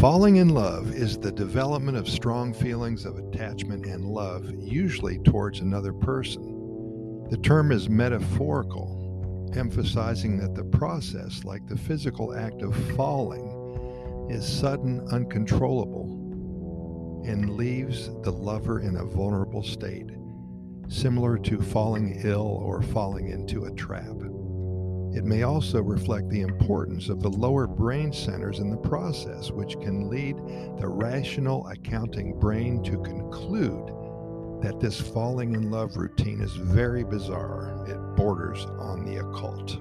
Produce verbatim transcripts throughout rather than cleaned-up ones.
Falling in love is the development of strong feelings of attachment and love, usually towards another person. The term is metaphorical, emphasizing that the process, like the physical act of falling, is sudden, uncontrollable, and leaves the lover in a vulnerable state, similar to falling ill or falling into a trap. It may also reflect the importance of the lower brain centers in the process, which can lead the rational accounting brain to conclude that this falling in love routine is very bizarre. It borders on the occult.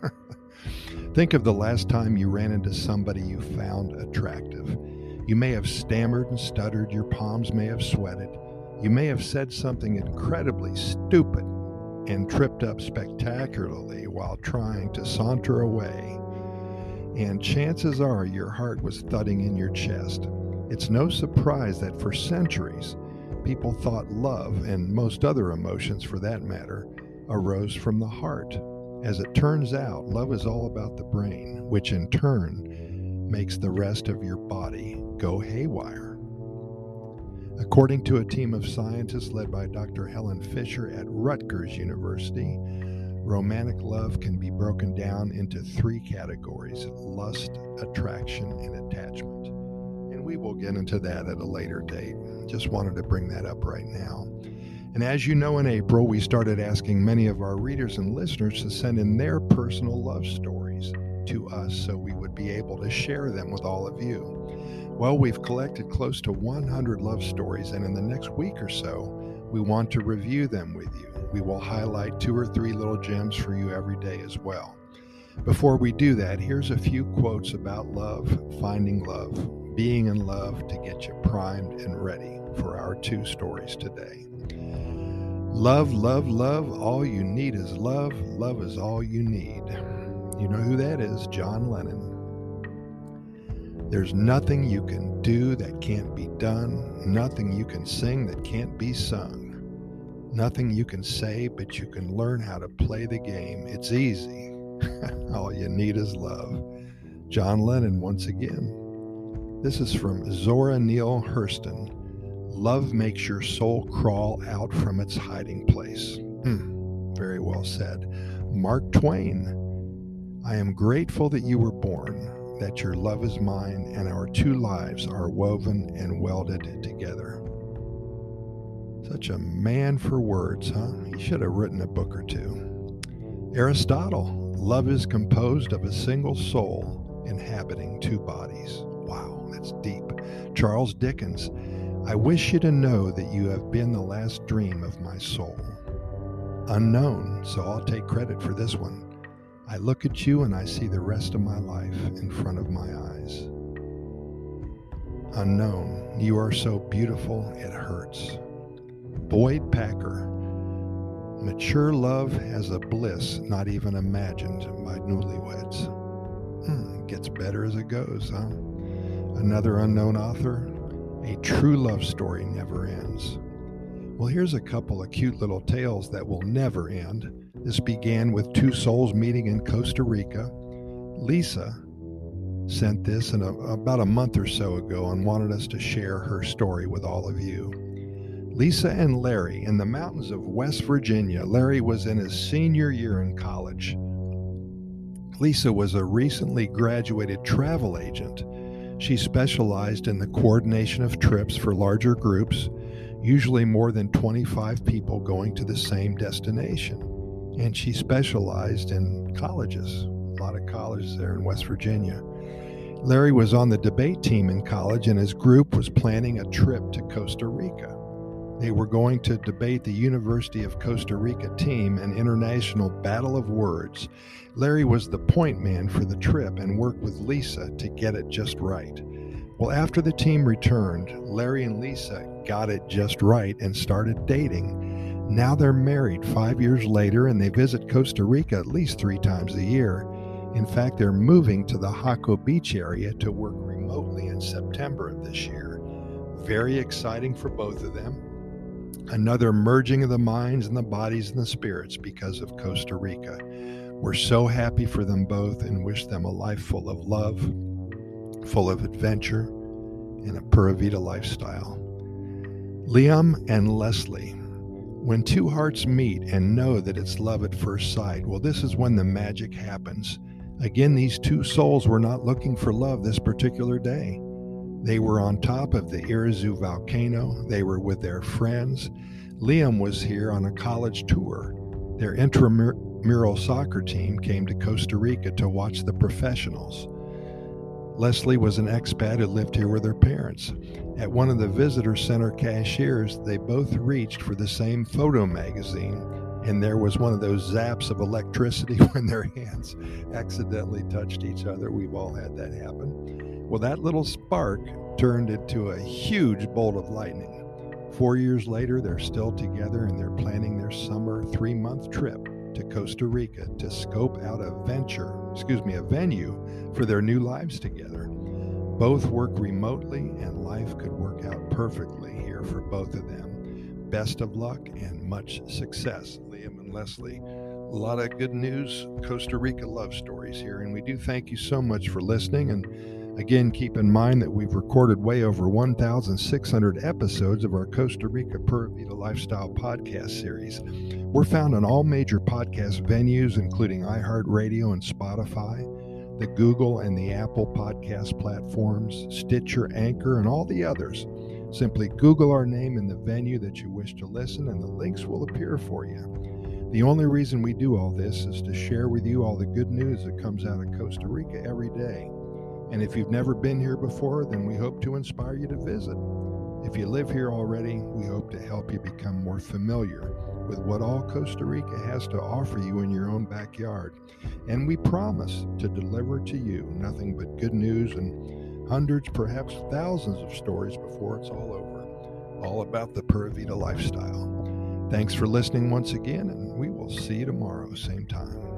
Think of the last time you ran into somebody you found attractive. You may have stammered and stuttered, your palms may have sweated, you may have said something incredibly stupid and tripped up spectacularly while trying to saunter away. And chances are your heart was thudding in your chest. It's no surprise that for centuries, people thought love, and most other emotions for that matter, arose from the heart. As it turns out, love is all about the brain, which in turn makes the rest of your body go haywire. According to a team of scientists led by Doctor Helen Fisher at Rutgers University, romantic love can be broken down into three categories: lust, attraction, and attachment. And we will get into that at a later date. Just wanted to bring that up right now. And as you know, in April, we started asking many of our readers and listeners to send in their personal love stories to us so we would be able to share them with all of you. Well, we've collected close to one hundred love stories, and in the next week or so, we want to review them with you. We will highlight two or three little gems for you every day as well. Before we do that, here's a few quotes about love, finding love, being in love to get you primed and ready for our two stories today. Love, love, love, all you need is love. Love is all you need. You know who that is? John Lennon. There's nothing you can do that can't be done, nothing you can sing that can't be sung, nothing you can say, but you can learn how to play the game. It's easy. All you need is love. John Lennon once again. This is from Zora Neale Hurston. Love makes your soul crawl out from its hiding place. Hmm, very well said. Mark Twain. I am grateful that you were born, that your love is mine, and our two lives are woven and welded together. Such a man for words, huh? He should have written a book or two. Aristotle, love is composed of a single soul inhabiting two bodies. Wow, that's deep. Charles Dickens, I wish you to know that you have been the last dream of my soul. Unknown, so I'll take credit for this one. I look at you and I see the rest of my life in front of my eyes. Unknown, you are so beautiful it hurts. Boyd Packer, mature love has a bliss not even imagined by newlyweds. Hmm, gets better as it goes, huh? Another unknown author, a true love story never ends. Well, here's a couple of cute little tales that will never end. This began with two souls meeting in Costa Rica. Lisa sent this in a, about a month or so ago and wanted us to share her story with all of you. Lisa and Larry in the mountains of West Virginia. Larry was in his senior year in college. Lisa was a recently graduated travel agent. She specialized in the coordination of trips for larger groups, usually more than twenty-five people going to the same destination. And she specialized in colleges, a lot of colleges there in West Virginia. Larry was on the debate team in college, and his group was planning a trip to Costa Rica. They were going to debate the University of Costa Rica team, an international battle of words. Larry was the point man for the trip and worked with Lisa to get it just right. Well, after the team returned, Larry and Lisa got it just right and started dating. Now they're married five years later, and they visit Costa Rica at least three times a year. In fact, they're moving to the Jaco Beach area to work remotely in September of this year. Very exciting for both of them. Another merging of the minds and the bodies and the spirits because of Costa Rica. We're so happy for them both and wish them a life full of love, full of adventure, in a Pura Vida lifestyle. Liam and Leslie. When two hearts meet and know that it's love at first sight, well, this is when the magic happens. Again, these two souls were not looking for love this particular day. They were on top of the Irazu volcano. They were with their friends. Liam was here on a college tour. Their intramural soccer team came to Costa Rica to watch the professionals. Leslie was an expat who lived here with her parents. At one of the visitor center cashiers, they both reached for the same photo magazine, and there was one of those zaps of electricity when their hands accidentally touched each other. We've all had that happen. Well, that little spark turned into a huge bolt of lightning. Four years later, they're still together, and they're planning their summer three-month trip to Costa Rica to scope out a venture, excuse me, a venue for their new lives together. Both work remotely, and life could work out perfectly here for both of them. Best of luck and much success, Liam and Leslie. A lot of good news, Costa Rica love stories here, and we do thank you so much for listening. And again, keep in mind that we've recorded way over one thousand six hundred episodes of our Costa Rica Pura Vida Lifestyle podcast series. We're found on all major podcast venues, including iHeartRadio and Spotify, the Google and the Apple podcast platforms, Stitcher, Anchor, and all the others. Simply Google our name in the venue that you wish to listen, and the links will appear for you. The only reason we do all this is to share with you all the good news that comes out of Costa Rica every day. And if you've never been here before, then we hope to inspire you to visit. If you live here already, we hope to help you become more familiar with what all Costa Rica has to offer you in your own backyard. And we promise to deliver to you nothing but good news and hundreds, perhaps thousands of stories before it's all over, all about the Pura Vida lifestyle. Thanks for listening once again, and we will see you tomorrow, same time.